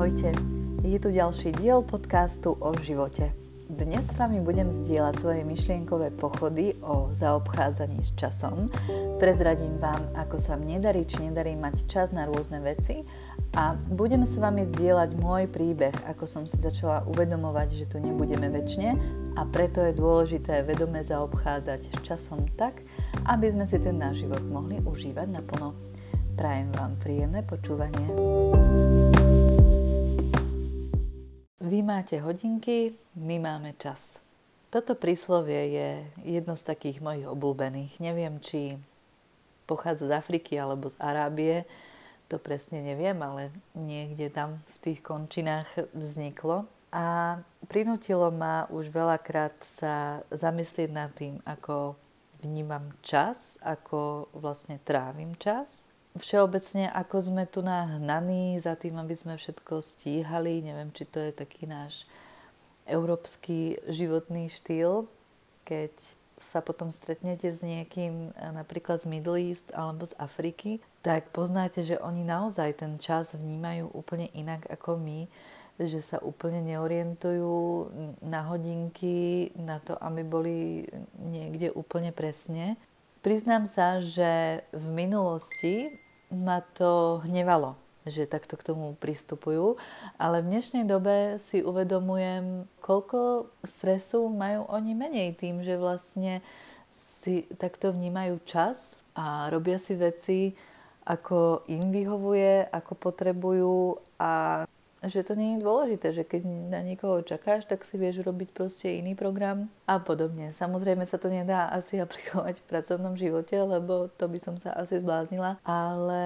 Ahojte, je tu ďalší diel podcastu o živote. Dnes s vami budem zdieľať svoje myšlienkové pochody o zaobchádzaní s časom. Prezradím vám, ako sa mne darí či nedarí mať čas na rôzne veci a budem s vami zdieľať môj príbeh, ako som si začala uvedomovať, že tu nebudeme večne a preto je dôležité vedome zaobchádzať s časom tak, aby sme si ten náš život mohli užívať naplno. Prajem vám príjemné počúvanie. Vy máte hodinky, my máme čas. Toto príslovie je jedno z takých mojich obľúbených. Neviem, či pochádza z Afriky alebo z Arábie, to presne neviem, ale niekde tam v tých končinách vzniklo. A prinútilo ma už veľakrát sa zamyslieť nad tým, ako vnímam čas, ako vlastne trávim čas. Všeobecne, ako sme tu nahnaní za tým, aby sme všetko stíhali. Neviem, či to je taký náš európsky životný štýl, keď sa potom stretnete s niekým napríklad z Middle East alebo z Afriky, tak poznáte, že oni naozaj ten čas vnímajú úplne inak ako my, že sa úplne neorientujú na hodinky, na to, aby boli niekde úplne presne. Priznám sa, že v minulosti ma to hnevalo, že takto k tomu pristupujú, ale v dnešnej dobe si uvedomujem, koľko stresu majú oni menej tým, že vlastne si takto vnímajú čas a robia si veci, ako im vyhovuje, ako potrebujú a že to nie je dôležité, že keď na niekoho čakáš, tak si vieš robiť proste iný program a podobne. Samozrejme sa to nedá asi aplikovať v pracovnom živote, lebo to by som sa asi zbláznila, ale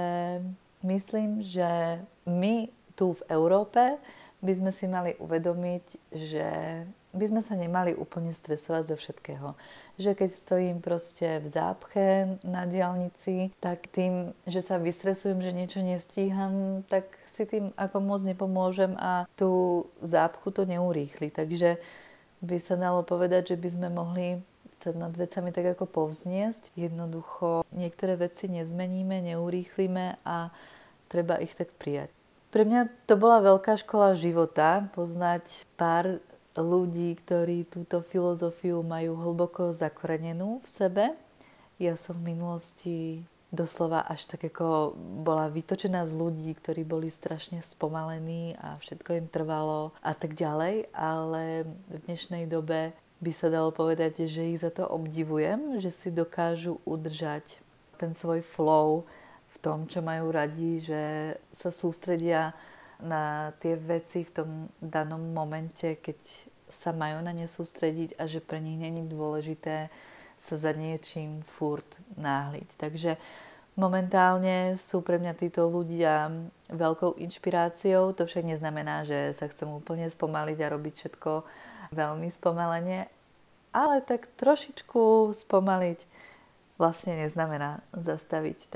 myslím, že my tu v Európe by sme si mali uvedomiť, že by sme sa nemali úplne stresovať zo všetkého. Že keď stojím proste v zápche na diaľnici, tak tým, že sa vystresujem, že niečo nestíham, tak si tým ako moc nepomôžem a tú zápchu to neurýchli. Takže by sa dalo povedať, že by sme mohli sa nad vecami tak ako povzniesť. Jednoducho niektoré veci nezmeníme, neurýchlime a treba ich tak prijať. Pre mňa to bola veľká škola života, poznať pár ľudí, ktorí túto filozofiu majú hlboko zakorenenú v sebe. Ja som v minulosti doslova až tak ako bola vytočená z ľudí, ktorí boli strašne spomalení a všetko im trvalo a tak ďalej, ale v dnešnej dobe by sa dalo povedať, že ich za to obdivujem, že si dokážu udržať ten svoj flow v tom, čo majú radi, že sa sústredia na tie veci v tom danom momente, keď sa majú na ne sústrediť a že pre nich nie je dôležité sa za niečím furt náhliť. Takže momentálne sú pre mňa títo ľudia veľkou inšpiráciou. To však neznamená, že sa chcem úplne spomaliť a robiť všetko veľmi spomalene, ale tak trošičku spomaliť vlastne neznamená zastaviť.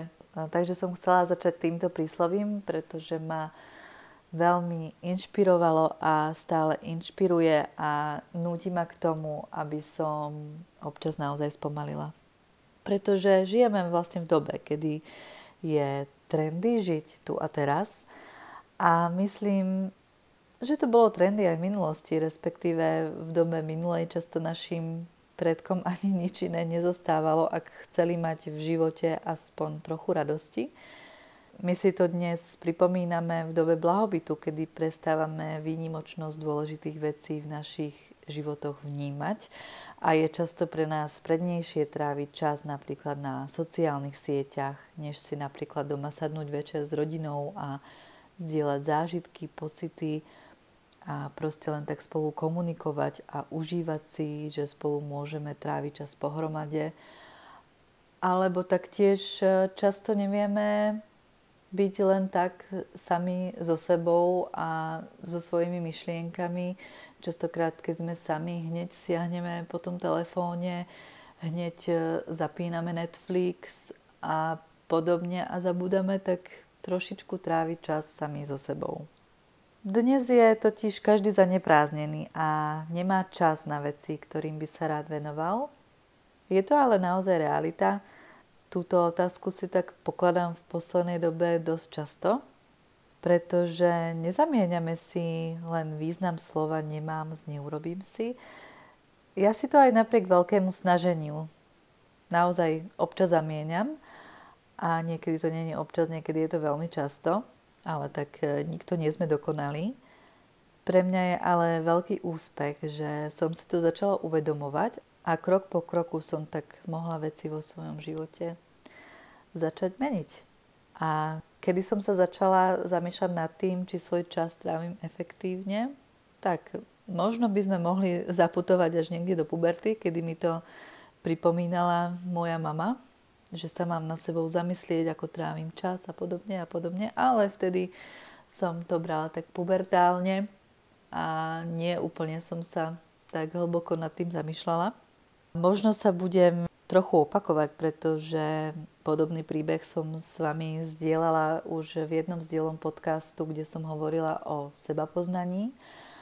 Takže som chcela začať týmto príslovím, pretože ma veľmi inšpirovalo a stále inšpiruje a núti ma k tomu, aby som občas naozaj spomalila. Pretože žijeme vlastne v dobe, kedy je trendy žiť tu a teraz a myslím, že to bolo trendy aj v minulosti, respektíve v dobe minulej často našim predkom ani nič iné nezostávalo, ak chceli mať v živote aspoň trochu radosti. My si to dnes pripomíname v dobe blahobytu, kedy prestávame výnimočnosť dôležitých vecí v našich životoch vnímať a je často pre nás prednejšie tráviť čas napríklad na sociálnych sieťach, než si napríklad doma sadnúť večer s rodinou a zdieľať zážitky, pocity a proste len tak spolu komunikovať a užívať si, že spolu môžeme tráviť čas pohromade. Alebo taktiež často nevieme byť len tak sami so sebou a so svojimi myšlienkami. Častokrát, keď sme sami, hneď siahneme po tom telefóne, hneď zapíname Netflix a podobne a zabúdame tak trošičku tráviť čas sami so sebou. Dnes je totiž každý zanepráznený a nemá čas na veci, ktorým by sa rád venoval. Je to ale naozaj realita. Túto otázku si tak pokladám v poslednej dobe dosť často pretože nezamieňame si len význam slova nemám s neurobím si. Ja si to aj napriek veľkému snaženiu naozaj občas zamieňam a niekedy to nie je občas, niekedy je to veľmi často, ale tak nikto nie sme dokonalí. Pre mňa je ale veľký úspech, že som si to začala uvedomovať a krok po kroku som tak mohla veci vo svojom živote začať meniť. A kedy som sa začala zamýšľať nad tým, či svoj čas trávim efektívne, tak možno by sme mohli zaputovať až niekde do puberty, kedy mi to pripomínala moja mama, že sa mám nad sebou zamyslieť, ako trávim čas a podobne, ale vtedy som to brala tak pubertálne a nie úplne som sa tak hlboko nad tým zamýšľala. Možno sa budem trochu opakovať, pretože podobný príbeh som s vami zdieľala už v jednom z dielom podcastu, kde som hovorila o sebapoznaní.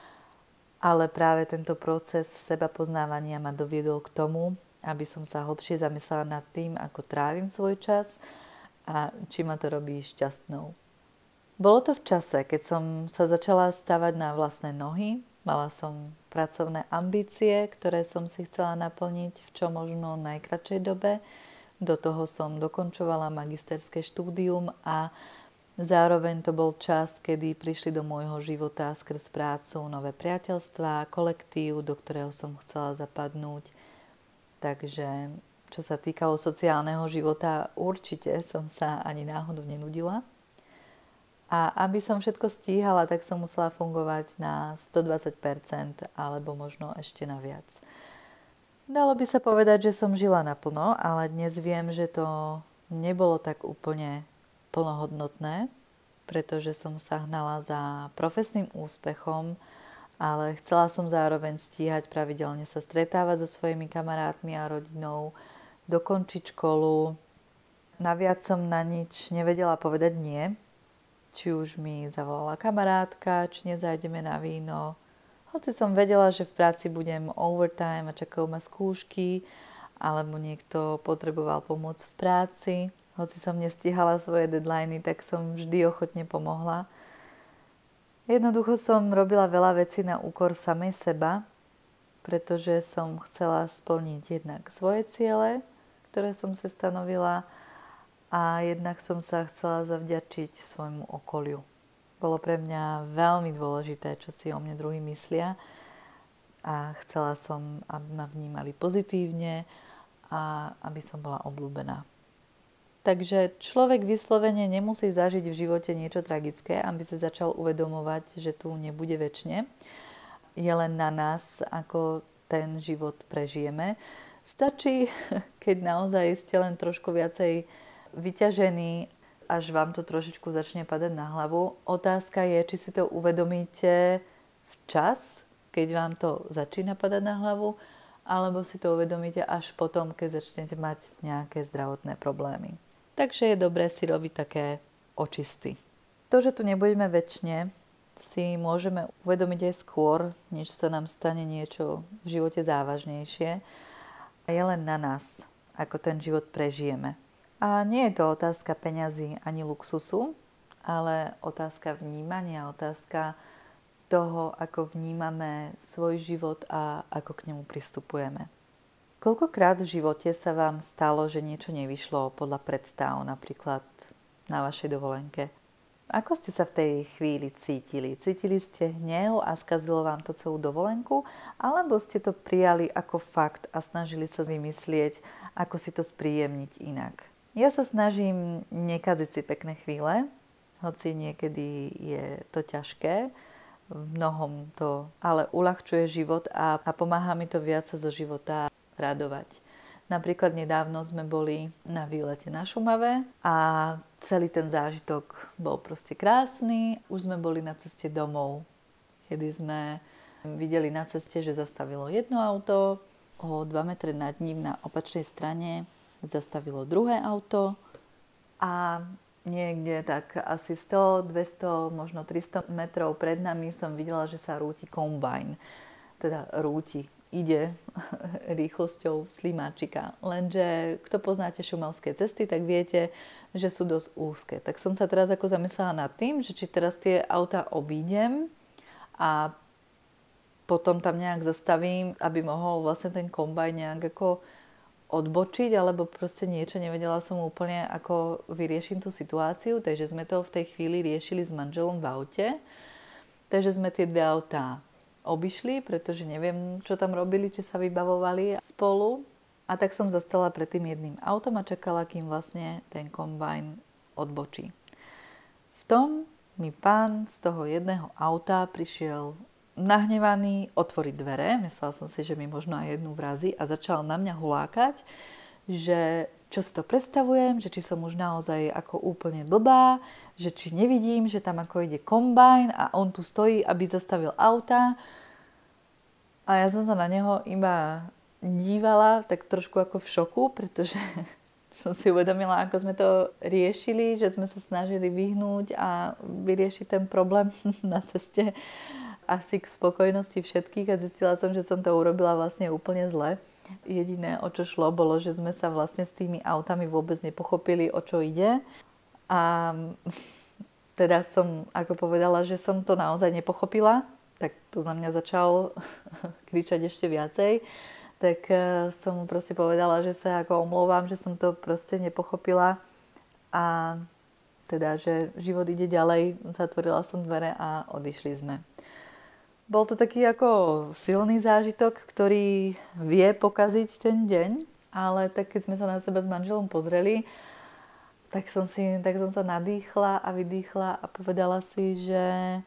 Ale práve tento proces sebapoznávania ma doviedol k tomu, aby som sa hlbšie zamyslela nad tým, ako trávim svoj čas a či ma to robí šťastnou. Bolo to v čase, keď som sa začala stavať na vlastné nohy, mala som pracovné ambície, ktoré som si chcela naplniť v čo možno najkratšej dobe. Do toho som dokončovala magisterské štúdium a zároveň to bol čas, kedy prišli do môjho života skrz prácu nové priateľstvá, kolektív, do ktorého som chcela zapadnúť. Takže čo sa týkalo sociálneho života, určite som sa ani náhodou nenudila. A aby som všetko stíhala, tak som musela fungovať na 120% alebo možno ešte na viac. Dalo by sa povedať, že som žila naplno, ale dnes viem, že to nebolo tak úplne plnohodnotné, pretože som sa hnala za profesným úspechom, ale chcela som zároveň stíhať pravidelne sa stretávať so svojimi kamarátmi a rodinou, dokončiť školu. Naviac som na nič nevedela povedať nie, či už mi zavolala kamarátka, či nezájdeme na víno. Hoci som vedela, že v práci budem overtime a čakajú ma skúšky, alebo niekto potreboval pomoc v práci. Hoci som nestihala svoje deadliny, tak som vždy ochotne pomohla. Jednoducho som robila veľa vecí na úkor samej seba, pretože som chcela splniť jednak svoje ciele, ktoré som si stanovila, a jednak som sa chcela zavďačiť svojmu okoliu. Bolo pre mňa veľmi dôležité, čo si o mne druhí myslia, a chcela som, aby ma vnímali pozitívne a aby som bola obľúbená. Takže človek vyslovene nemusí zažiť v živote niečo tragické, aby sa začal uvedomovať, že tu nebude večne. Je len na nás, ako ten život prežijeme. Stačí, keď naozaj ste len trošku viacej vyťažení, až vám to trošičku začne padať na hlavu. Otázka je, či si to uvedomíte včas, keď vám to začína padať na hlavu, alebo si to uvedomíte až potom, keď začnete mať nejaké zdravotné problémy. Takže je dobré si robiť také očisty. To, že tu nebudeme večne, si môžeme uvedomiť aj skôr, než sa nám stane niečo v živote závažnejšie. A je len na nás, ako ten život prežijeme. A nie je to otázka peňazí ani luxusu, ale otázka vnímania, otázka toho, ako vnímame svoj život a ako k nemu pristupujeme. Koľkokrát v živote sa vám stalo, že niečo nevyšlo podľa predstáv, napríklad na vašej dovolenke? Ako ste sa v tej chvíli cítili? Cítili ste hnev a skazilo vám to celú dovolenku? Alebo ste to prijali ako fakt a snažili sa vymyslieť, ako si to spríjemniť inak? Ja sa snažím nekaziť si pekné chvíle, hoci niekedy je to ťažké, v mnohom to ale uľahčuje život a pomáha mi to viac sa zo života radovať. Napríklad nedávno sme boli na výlete na Šumave a celý ten zážitok bol proste krásny. Už sme boli na ceste domov, kedy sme videli na ceste, že zastavilo jedno auto, o 2 metre nad ním na opačnej strane zastavilo druhé auto a niekde tak asi 100, 200, možno 300 metrov pred nami som videla, že sa rúti kombajn. Teda rúti. ide rýchlosťou slimáčika. Lenže kto poznáte šumavské cesty, tak viete, že sú dosť úzke. Tak som sa teraz ako zamyslela nad tým, že či teraz tie auta obídem a potom tam nejak zastavím, aby mohol vlastne ten kombajn nejak ako odbočiť, alebo proste niečo, nevedela som úplne, ako vyrieším tú situáciu, takže sme to v tej chvíli riešili s manželom v aute. Takže sme tie dve autá obišli, pretože neviem, čo tam robili, či sa vybavovali spolu. A tak som zastala pred tým jedným autom a čakala, kým vlastne ten kombajn odbočí. V tom mi pán z toho jedného auta prišiel nahnevaný otvoriť dvere. Myslela som si, že mi možno aj jednu vrazí a začal na mňa hulákať, že čo si to predstavujem, že či som už naozaj ako úplne blbá, že či nevidím, že tam ako ide kombajn a on tu stojí, aby zastavil auta. A ja som sa na neho iba dívala tak trošku ako v šoku, pretože som si uvedomila, ako sme to riešili, že sme sa snažili vyhnúť a vyriešiť ten problém na ceste asi k spokojnosti všetkých a zistila som, že som to urobila vlastne úplne zle. Jediné, o čo šlo, bolo, že sme sa vlastne s tými autami vôbec nepochopili, o čo ide. A teda som ako povedala, že som to naozaj nepochopila, tak to na mňa začal kričať ešte viacej. Tak som mu proste povedala, že sa ako omlouvám, že som to proste nepochopila a teda, že život ide ďalej. Zatvorila som dvere a odišli sme. Bol to taký ako silný zážitok, ktorý vie pokaziť ten deň, ale tak keď sme sa na seba s manželom pozreli, tak som sa nadýchla a vydýchla a povedala si, že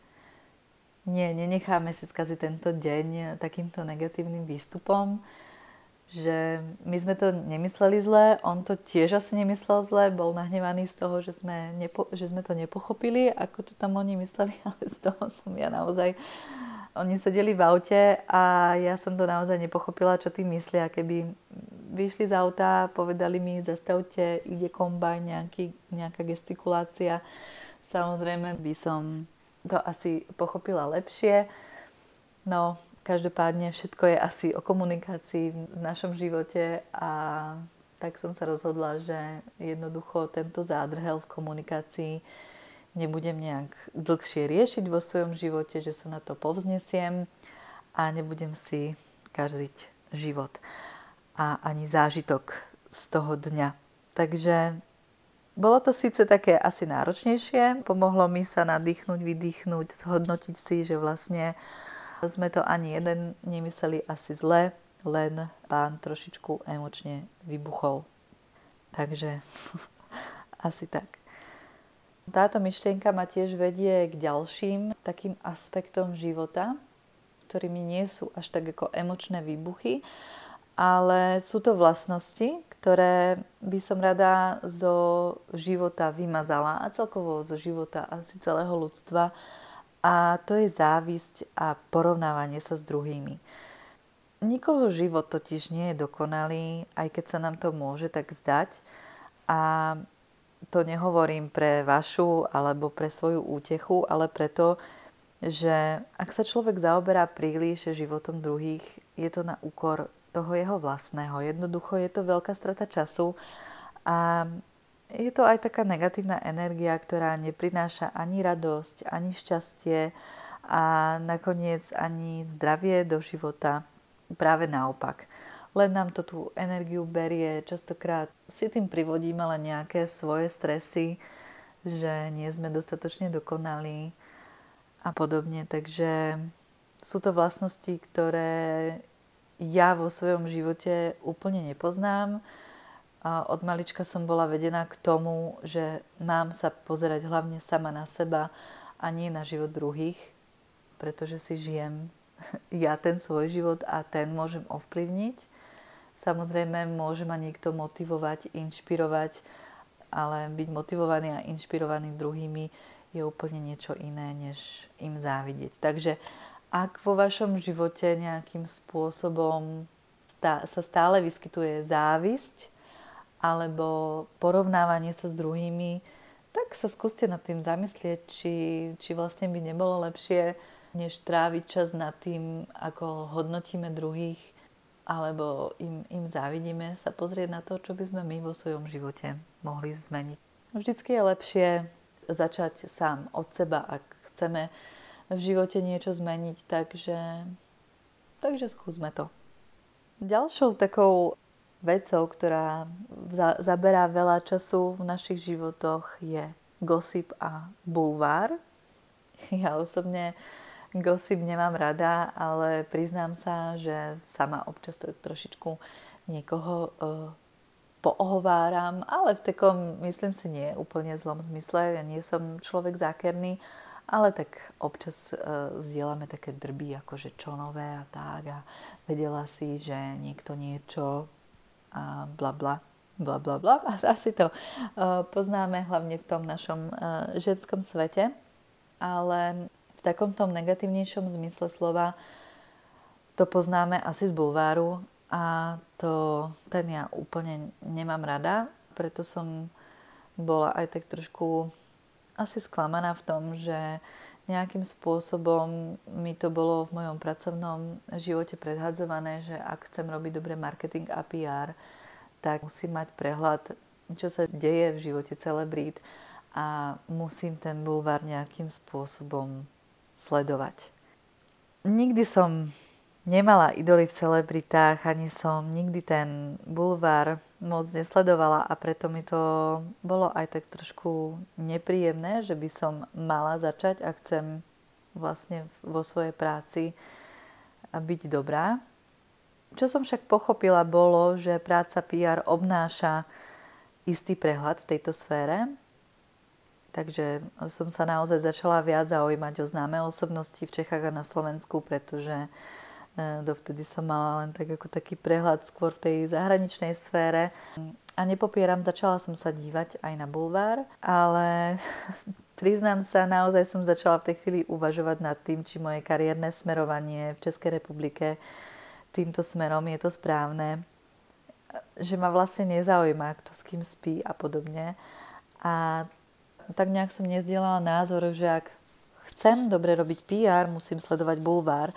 nenecháme si skaziť tento deň takýmto negatívnym výstupom, že my sme to nemysleli zle, on to tiež asi nemyslel zle, bol nahnevaný z toho, že sme to nepochopili, ako to tam oni mysleli, ale z toho som ja naozaj... Oni sedeli v aute a ja som to naozaj nepochopila, čo tým myslia. Keby vyšli z auta, povedali mi, zastavte, ide kombajn, nejaká gestikulácia. Samozrejme by som to asi pochopila lepšie. No, každopádne všetko je asi o komunikácii v našom živote a tak som sa rozhodla, že jednoducho tento zádrhel v komunikácii nebudem nejak dlhšie riešiť vo svojom živote, že sa na to povznesiem a nebudem si kaziť život a ani zážitok z toho dňa. Takže bolo to síce také asi náročnejšie, pomohlo mi sa nadýchnuť, vydýchnuť, zhodnotiť si, že vlastne sme to ani jeden nemysleli asi zle, len pán trošičku emočne vybuchol. Takže asi tak. Táto myšlienka ma tiež vedie k ďalším takým aspektom života, ktorými nie sú až tak ako emočné výbuchy, ale sú to vlastnosti, ktoré by som rada zo života vymazala a celkovo zo života asi celého ľudstva. A to je závisť a porovnávanie sa s druhými. Nikoho život totiž nie je dokonalý, aj keď sa nám to môže tak zdať. A to nehovorím pre vašu alebo pre svoju útechu, ale preto, že ak sa človek zaoberá príliš životom druhých, je to na úkor toho jeho vlastného. Jednoducho je to veľká strata času a je to aj taká negatívna energia, ktorá neprináša ani radosť, ani šťastie a nakoniec ani zdravie do života. Práve naopak. Len nám to tú energiu berie, častokrát si tým privodíme len nejaké svoje stresy, že nie sme dostatočne dokonalí a podobne. Takže sú to vlastnosti, ktoré ja vo svojom živote úplne nepoznám. A od malička som bola vedená k tomu, že mám sa pozerať hlavne sama na seba a nie na život druhých, pretože si žijem ja ten svoj život a ten môžem ovplyvniť. Samozrejme, môže ma niekto motivovať, inšpirovať, ale byť motivovaný a inšpirovaný druhými je úplne niečo iné, než im závidieť. Takže ak vo vašom živote nejakým spôsobom sa stále vyskytuje závisť alebo porovnávanie sa s druhými, tak sa skúste nad tým zamyslieť, či vlastne by nebolo lepšie než tráviť čas nad tým, ako hodnotíme druhých, alebo im závidíme, sa pozrieť na to, čo by sme my vo svojom živote mohli zmeniť. Vždycky je lepšie začať sám od seba, ak chceme v živote niečo zmeniť, takže skúsme to. Ďalšou takou vecou, ktorá zaberá veľa času v našich životoch, je gossip a bulvár. Ja osobne gossip nemám rada, ale priznám sa, že sama občas trošičku niekoho poohováram, ale v takom, myslím si, nie úplne zlom zmysle. Ja nie som človek zákerný, ale tak občas zdieľame také drby, akože čo nové a tak. A vedela si, že niekto niečo a bla bla, bla bla bla. A asi to poznáme hlavne v tom našom ženskom svete. Ale v takom tom negatívnejšom zmysle slova to poznáme asi z bulváru a ten ja úplne nemám rada, preto som bola aj tak trošku asi sklamaná v tom, že nejakým spôsobom mi to bolo v mojom pracovnom živote predhadzované, že ak chcem robiť dobre marketing a PR, tak musím mať prehľad, čo sa deje v živote celebrít a musím ten bulvár nejakým spôsobom sledovať. Nikdy som nemala idoly v celebritách, ani som nikdy ten bulvár moc nesledovala a preto mi to bolo aj tak trošku nepríjemné, že by som mala začať a chcem vlastne vo svojej práci byť dobrá. Čo som však pochopila bolo, že práca PR obnáša istý prehľad v tejto sfére. Takže som sa naozaj začala viac zaujímať o známe osobnosti v Čechách a na Slovensku, pretože dovtedy som mala len tak ako taký prehľad skôr v tej zahraničnej sfére. A nepopieram, začala som sa dívať aj na bulvár, ale priznám sa, naozaj som začala v tej chvíli uvažovať nad tým, či moje kariérne smerovanie v Českej republike týmto smerom je to správne. Že ma vlastne nezaujíma, kto s kým spí a podobne. A tak nejak som nezdielala názor, že ak chcem dobre robiť PR, musím sledovať bulvár.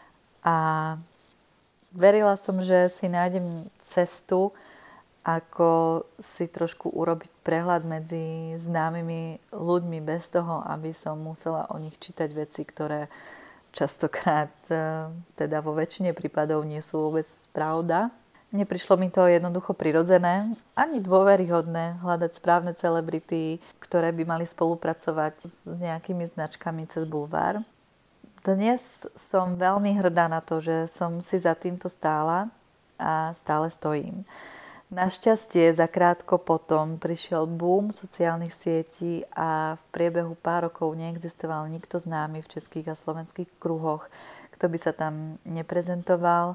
A verila som, že si nájdem cestu, ako si trošku urobiť prehľad medzi známymi ľuďmi bez toho, aby som musela o nich čítať veci, ktoré častokrát, teda vo väčšine prípadov, nie sú vôbec pravda. Neprišlo mi to jednoducho prirodzené, ani dôveryhodné hľadať správne celebrity, ktoré by mali spolupracovať s nejakými značkami cez bulvár. Dnes som veľmi hrdá na to, že som si za týmto stála a stále stojím. Našťastie zakrátko potom prišiel boom sociálnych sietí a v priebehu pár rokov neexistoval nikto známy v českých a slovenských kruhoch, kto by sa tam neprezentoval.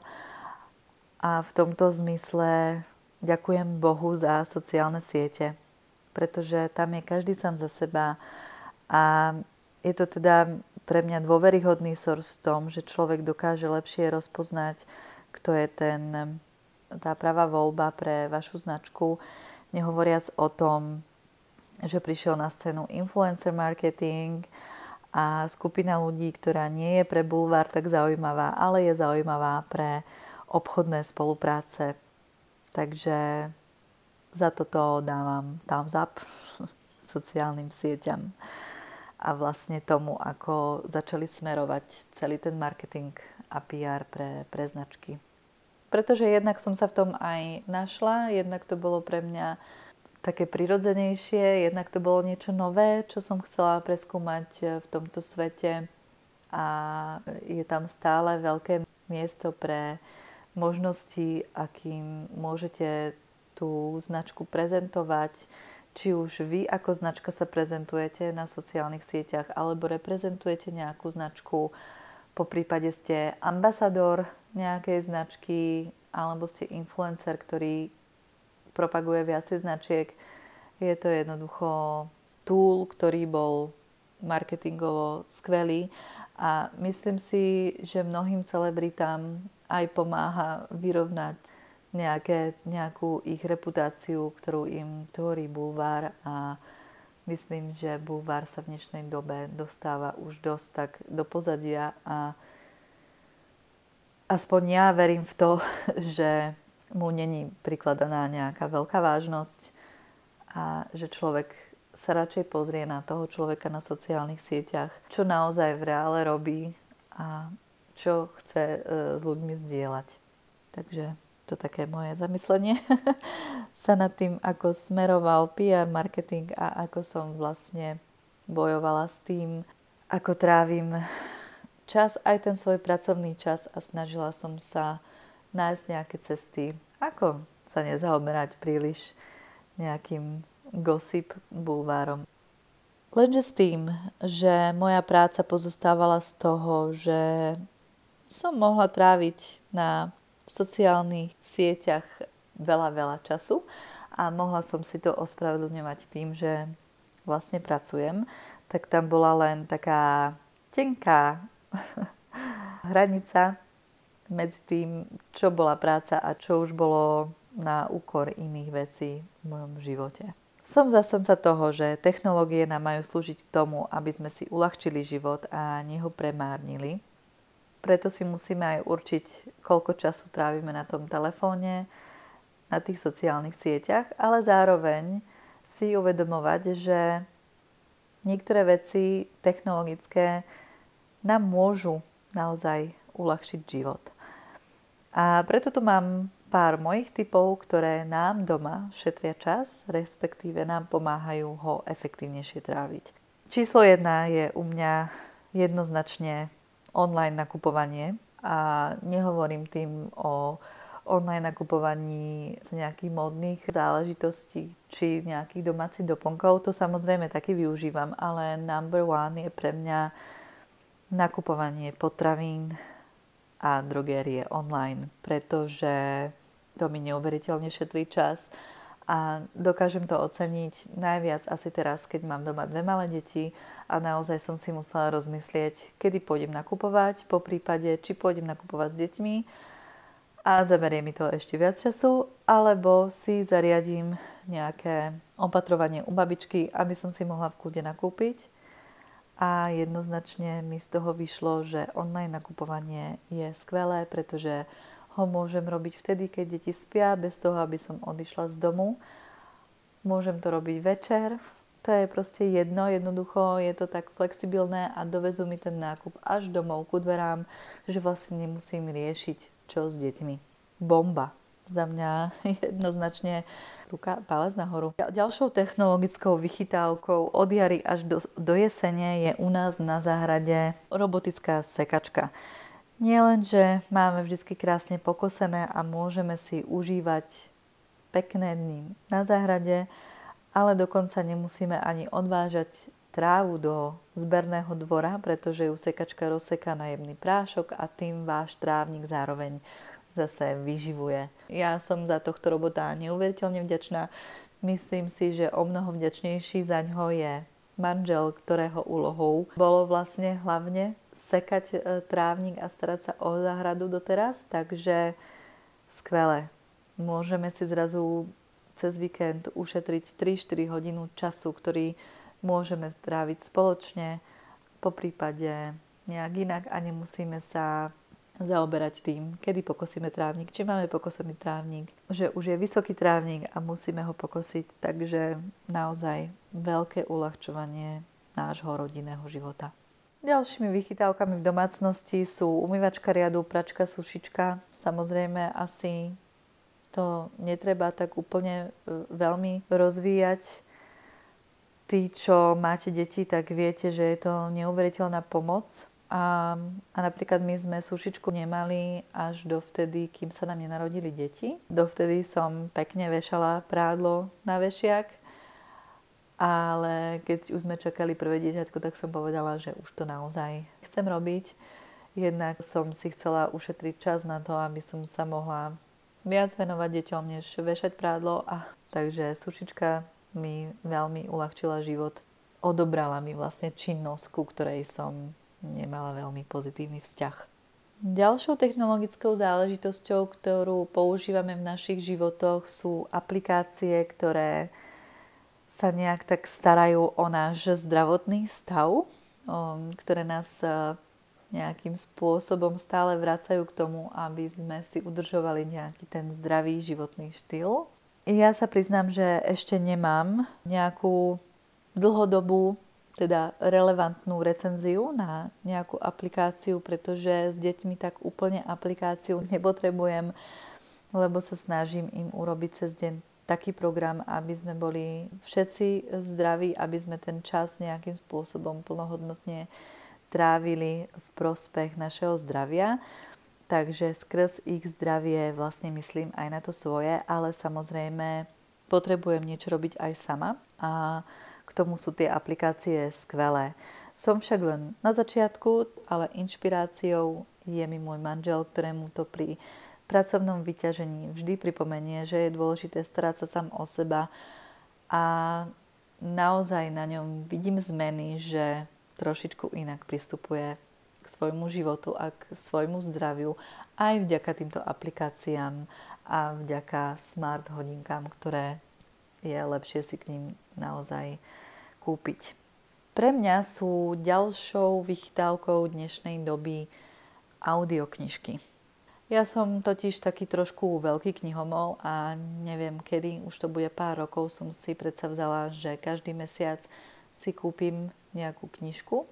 A v tomto zmysle ďakujem Bohu za sociálne siete, pretože tam je každý sám za seba a je to teda pre mňa dôveryhodný source v tom, že človek dokáže lepšie rozpoznať, kto je tá pravá voľba pre vašu značku, nehovoriac o tom, že prišiel na scénu influencer marketing a skupina ľudí, ktorá nie je pre bulvár tak zaujímavá, ale je zaujímavá pre obchodné spolupráce. Takže za toto dávam thumbs up sociálnym sieťam a vlastne tomu, ako začali smerovať celý ten marketing a PR pre značky. Pretože jednak som sa v tom aj našla, jednak to bolo pre mňa také prirodzenejšie, jednak to bolo niečo nové, čo som chcela preskúmať v tomto svete a je tam stále veľké miesto pre možnosti, akým môžete tú značku prezentovať, či už vy ako značka sa prezentujete na sociálnych sieťach, alebo reprezentujete nejakú značku, poprípade ste ambasador nejakej značky, alebo ste influencer, ktorý propaguje viacej značiek. Je to jednoducho tool, ktorý bol marketingovo skvelý a myslím si, že mnohým celebritám aj pomáha vyrovnať nejakú ich reputáciu, ktorú im tvorí bulvár a myslím, že bulvár sa v dnešnej dobe dostáva už dosť tak do pozadia a aspoň ja verím v to, že mu není prikladaná nejaká veľká vážnosť a že človek sa radšej pozrie na toho človeka na sociálnych sieťach, čo naozaj v reále robí a čo chce s ľuďmi zdieľať. Takže to také moje zamyslenie sa nad tým, ako smeroval PR marketing a ako som vlastne bojovala s tým, ako trávim čas, aj ten svoj pracovný čas a snažila som sa nájsť nejaké cesty, ako sa nezaoberať príliš nejakým gossip bulvárom. Lenže s tým, že moja práca pozostávala z toho, že som mohla tráviť na sociálnych sieťach veľa času a mohla som si to ospravedlňovať tým, že vlastne pracujem, tak tam bola len taká tenká hranica medzi tým, čo bola práca a čo už bolo na úkor iných vecí v mojom živote. Som zastanca toho, že technológie nám majú slúžiť k tomu, aby sme si uľahčili život a nie ho premárnili. Preto si musíme aj určiť, koľko času trávime na tom telefóne, na tých sociálnych sieťach, ale zároveň si uvedomovať, že niektoré veci technologické nám môžu naozaj uľahčiť život. A preto tu mám pár mojich tipov, ktoré nám doma šetria čas, respektíve nám pomáhajú ho efektívnejšie tráviť. Číslo 1 je u mňa jednoznačne online nakupovanie a nehovorím tým o online nakupovaní z nejakých módnych záležitostí či nejakých domácich doplnkov. To samozrejme taky využívam, ale number one je pre mňa nakupovanie potravín a drogérie online, pretože to mi neuveriteľne šetlí čas a dokážem to oceniť najviac asi teraz, keď mám doma 2 malé deti a naozaj som si musela rozmyslieť, kedy pôjdem nakupovať, po prípade, či pôjdem nakupovať s deťmi a zaberie mi to ešte viac času, alebo si zariadím nejaké opatrovanie u babičky, aby som si mohla v kľude nakúpiť. A jednoznačne mi z toho vyšlo, že online nakupovanie je skvelé, pretože ho môžem robiť vtedy, keď deti spia, bez toho, aby som odišla z domu. Môžem to robiť večer. To je proste jednoducho, je to tak flexibilné a dovezú mi ten nákup až domov ku dverám, že vlastne nemusím riešiť, čo s deťmi. Bomba. Za mňa jednoznačne palec nahoru. Ďalšou technologickou vychytávkou od jary až do jesene je u nás na záhrade robotická sekačka. Nie len, že máme vždy krásne pokosené a môžeme si užívať pekné dni na záhrade, ale dokonca nemusíme ani odvážať trávu do zberného dvora, pretože ju sekačka rozseká na jemný prášok a tým váš trávnik zároveň zase vyživuje. Ja som za tohto robota neuveriteľne vďačná. Myslím si, že o mnoho vďačnejší za ňo je manžel, ktorého úlohou bolo vlastne hlavne sekať trávnik a starať sa o záhradu doteraz, takže skvelé. Môžeme si zrazu cez víkend ušetriť 3-4 hodinu času, ktorý môžeme tráviť spoločne, po prípade nejak inak a nemusíme sa zaoberať tým, kedy pokosíme trávnik, či máme pokosený trávnik, že už je vysoký trávnik a musíme ho pokosiť, takže naozaj veľké uľahčovanie nášho rodinného života. Ďalšími vychytávkami v domácnosti sú umývačka riadu, pračka, sušička. Samozrejme asi to netreba tak úplne veľmi rozvíjať. Tí, čo máte deti, tak viete, že je to neuveriteľná pomoc. A napríklad my sme sušičku nemali až dovtedy, kým sa nám nenarodili deti. Dovtedy som pekne vešala prádlo na vešiak, ale keď už sme čakali prvé dieťatko, tak som povedala, že už to naozaj chcem robiť. Jednak som si chcela ušetriť čas na to, aby som sa mohla viac venovať deťom, než vešať prádlo. Takže sušička mi veľmi uľahčila život. Odobrala mi vlastne činnosť, ku ktorej som nemala veľmi pozitívny vzťah. Ďalšou technologickou záležitosťou, ktorú používame v našich životoch, sú aplikácie, ktoré sa nejak tak starajú o náš zdravotný stav, ktoré nás nejakým spôsobom stále vracajú k tomu, aby sme si udržovali nejaký ten zdravý životný štýl. Ja sa priznám, že ešte nemám nejakú dlhodobú, teda relevantnú recenziu na nejakú aplikáciu, pretože s deťmi tak úplne aplikáciu nepotrebujem, lebo sa snažím im urobiť cez deň taký program, aby sme boli všetci zdraví, aby sme ten čas nejakým spôsobom plnohodnotne trávili v prospech našeho zdravia. Takže skrz ich zdravie vlastne myslím aj na to svoje, ale samozrejme potrebujem niečo robiť aj sama a k tomu sú tie aplikácie skvelé. Som však len na začiatku, ale inšpiráciou je mi môj manžel, ktorému to pri pracovnom vyťažení vždy pripomenie, že je dôležité starať sa sám o seba a naozaj na ňom vidím zmeny, že trošičku inak pristupuje k svojmu životu a k svojmu zdraviu aj vďaka týmto aplikáciám a vďaka smart hodinkám, ktoré je lepšie si k ním naozaj kúpiť. Pre mňa sú ďalšou vychytávkou dnešnej doby audioknižky. Ja som totiž taký trošku veľký knihomol a neviem kedy, už to bude pár rokov, som si predsa vzala, že každý mesiac si kúpim nejakú knižku.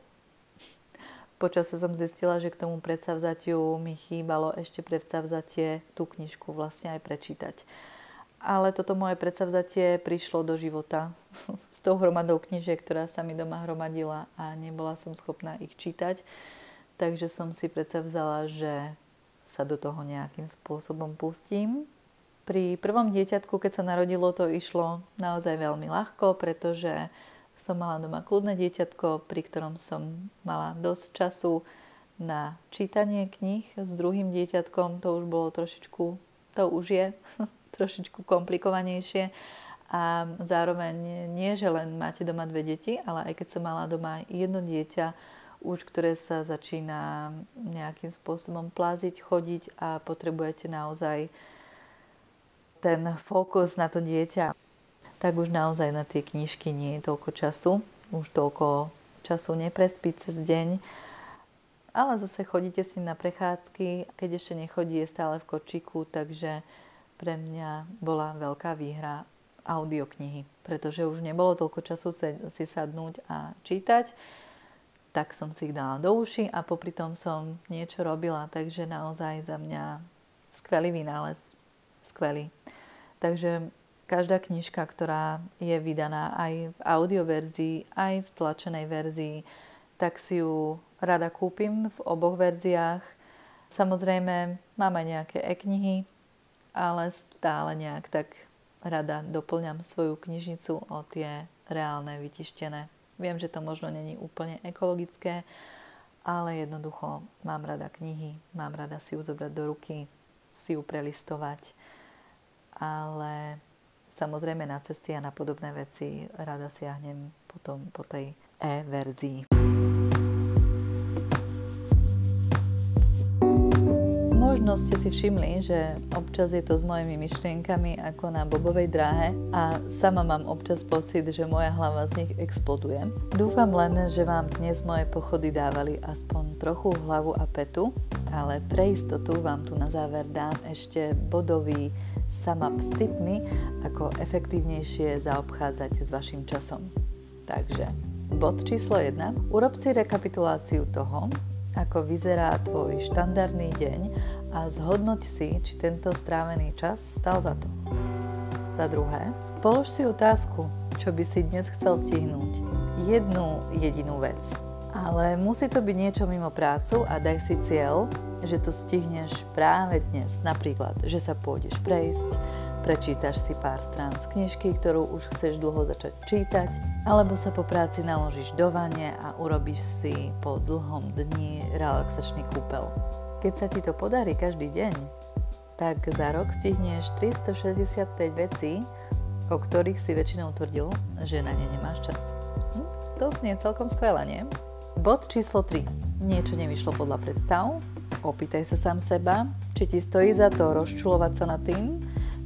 Počasie som zistila, že k tomu predsavzatiu mi chýbalo ešte predsavzatie tú knižku vlastne aj prečítať. Ale toto moje predsavzatie prišlo do života s tou hromadou knižiek, ktorá sa mi doma hromadila a nebola som schopná ich čítať. Takže som si predsavzala, že sa do toho nejakým spôsobom pustím. Pri prvom dieťatku, keď sa narodilo, to išlo naozaj veľmi ľahko, pretože som mala doma kľudné dieťatko, pri ktorom som mala dosť času na čítanie kníh. S druhým dieťatkom to už bolo trošičku, to už je trošičku komplikovanejšie a zároveň nie, že len máte doma dve deti, ale aj keď som mala doma jedno dieťa, už ktoré sa začína nejakým spôsobom pláziť, chodiť a potrebujete naozaj ten fokus na to dieťa, tak už naozaj na tie knižky nie je toľko času. Už toľko času neprespíť cez deň. Ale zase chodíte s ním na prechádzky. Keď ešte nechodí, je stále v kočíku, takže pre mňa bola veľká výhra audioknihy. Pretože už nebolo toľko času si sadnúť a čítať, tak som si ich dala do uši a popri tom som niečo robila. Takže naozaj za mňa skvelý vynález. Skvelý. Takže každá knižka, ktorá je vydaná aj v audioverzii, aj v tlačenej verzii, tak si ju rada kúpim v oboch verziách. Samozrejme, mám aj nejaké e-knihy, ale stále nejak tak rada doplňam svoju knižnicu o tie reálne vytištené. Viem, že to možno není úplne ekologické, ale jednoducho mám rada knihy, mám rada si ju zobrať do ruky, si ju prelistovať, ale samozrejme na cesty a na podobné veci rada siahnem potom po tej e-verzii. Možno ste si všimli, že občas je to s mojimi myšlienkami ako na bobovej dráhe a sama mám občas pocit, že moja hlava z nich exploduje. Dúfam len, že vám dnes moje pochody dávali aspoň trochu hlavu a petu, ale pre istotu vám tu na záver dám ešte bodový sum-up s tipmi, ako efektívnejšie zaobchádzať s vašim časom. Takže, bod číslo 1. Urob si rekapituláciu toho, ako vyzerá tvoj štandardný deň a zhodnoť si, či tento strávený čas stal za to. Za druhé, polož si otázku, čo by si dnes chcel stihnúť. Jednu jedinú vec. Ale musí to byť niečo mimo prácu a daj si cieľ, že to stihneš práve dnes. Napríklad, že sa pôjdeš prejsť, prečítaš si pár strán z knižky, ktorú už chceš dlho začať čítať, alebo sa po práci naložíš do vane a urobíš si po dlhom dni relaxačný kúpel. Keď sa ti to podarí každý deň, tak za rok stihneš 365 vecí, o ktorých si väčšinou tvrdil, že na ne nemáš čas. To znie celkom skvelé, nie? Bod číslo 3. Niečo nevyšlo podľa predstav? Opýtaj sa sám seba, či ti stojí za to rozčulovať sa nad tým,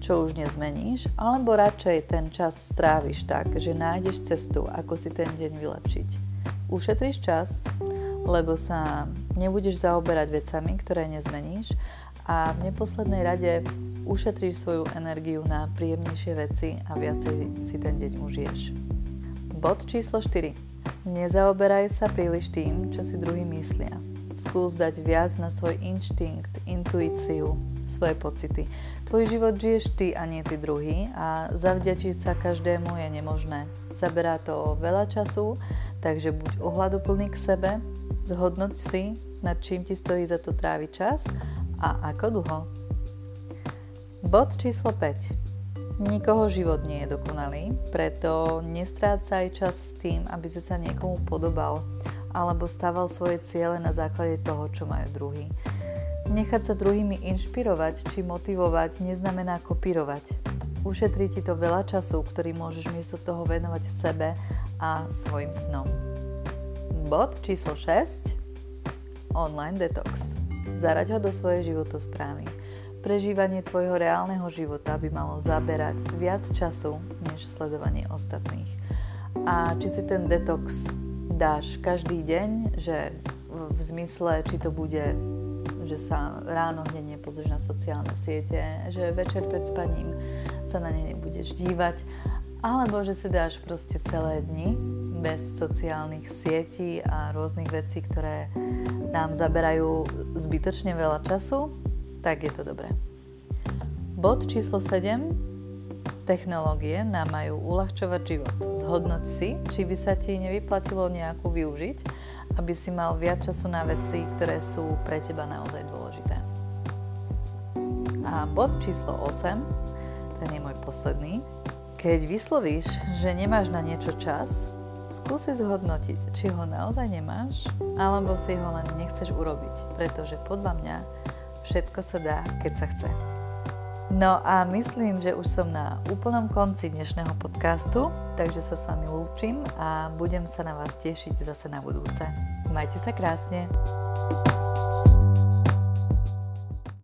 čo už nezmeníš, alebo radšej ten čas stráviš tak, že nájdeš cestu, ako si ten deň vylepšiť. Ušetríš čas, lebo sa nebudeš zaoberať vecami, ktoré nezmeníš a v neposlednej rade ušetríš svoju energiu na príjemnejšie veci a viacej si ten deň užiješ. Bod číslo 4. Nezaoberaj sa príliš tým, čo si druhí myslia. Skús dať viac na svoj inštinkt, intuíciu, svoje pocity. Tvoj život žiješ ty a nie ty druhý a zavďačiť sa každému je nemožné. Zaberá to veľa času, takže buď ohľaduplný k sebe, zhodnoť si, nad čím ti stojí za to tráviť čas a ako dlho. Bod číslo 5. Nikoho život nie je dokonalý, preto nestrácaj čas s tým, aby si sa niekomu podobal alebo stával svoje ciele na základe toho, čo majú druhí. Nechať sa druhými inšpirovať či motivovať neznamená kopírovať. Ušetrí ti to veľa času, ktorý môžeš miesto toho venovať sebe a svojim snom. Bod číslo 6. Online detox. Zaraď ho do svojej životosprávy. Prežívanie tvojho reálneho života by malo zaberať viac času, než sledovanie ostatných. A či si ten detox dáš každý deň, že v zmysle, či to bude, že sa ráno hneď nepozrieš na sociálne siete, že večer pred spaním sa na ne nebudeš dívať, alebo že si dáš proste celé dni bez sociálnych sietí a rôznych vecí, ktoré nám zaberajú zbytočne veľa času, tak je to dobré. Bod číslo 7. Technológie nám majú uľahčovať život. Zhodnoť si, či by sa ti nevyplatilo nejakú využiť, aby si mal viac času na veci, ktoré sú pre teba naozaj dôležité. A bod číslo 8, ten je môj posledný. Keď vyslovíš, že nemáš na niečo čas, skúsi zhodnotiť, či ho naozaj nemáš, alebo si ho len nechceš urobiť, pretože podľa mňa všetko sa dá, keď sa chce. No a myslím, že už som na úplnom konci dnešného podcastu, takže sa s vami lúčim a budem sa na vás tešiť zase na budúce. Majte sa krásne.